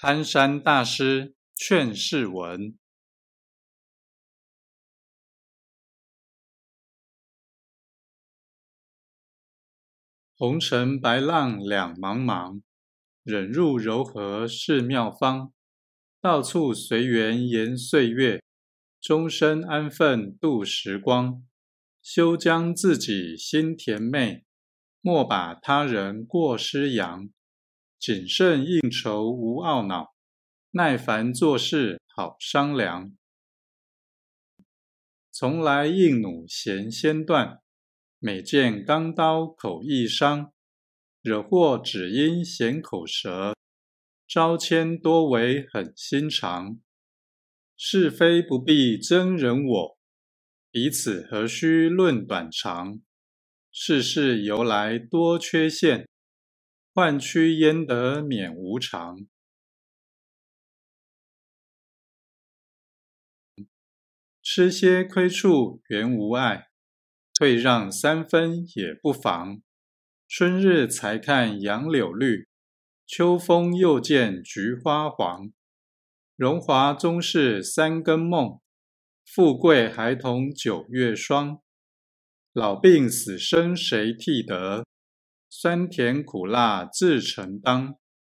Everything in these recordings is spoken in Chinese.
憨山大师劝世文：红尘白浪两茫茫，忍入柔和是妙方。到处随缘延岁月，终身安分度时光。休将自己心甜美，莫把他人过失扬。谨慎应酬无懊恼，耐烦做事好商量。从来硬弩弦先断，每见钢刀口易伤。惹祸只因闲口舌，招迁多为狠心肠。是非不必争人我，彼此何须论短长。世事由来多缺陷，换屈焉得免无常。吃些亏处原无碍，退让3分也不妨。春日才看杨柳绿，秋风又见菊花黄。荣华终是3更梦，富贵还同9月霜。老病死生谁替得？酸甜苦辣自承当。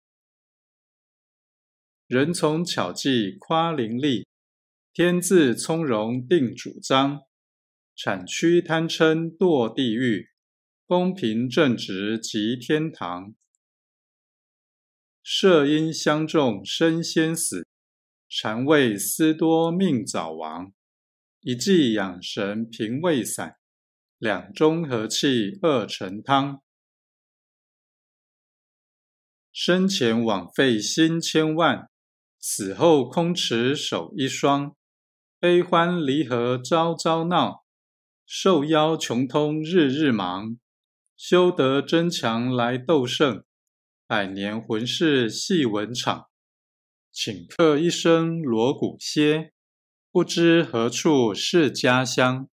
人从巧计夸伶俐，天自从容定主张。产区贪嗔堕地狱，公平正直即天堂。射因相中身先死，禅位思多命早亡。一剂养神平胃散，两盅和气2陈汤。生前枉费心千万，死后空持手一双。悲欢离合朝朝闹，受邀穷通日日忙。修得真强来斗胜，百年浑是戏文场。顷刻一声锣鼓歇，不知何处是家乡。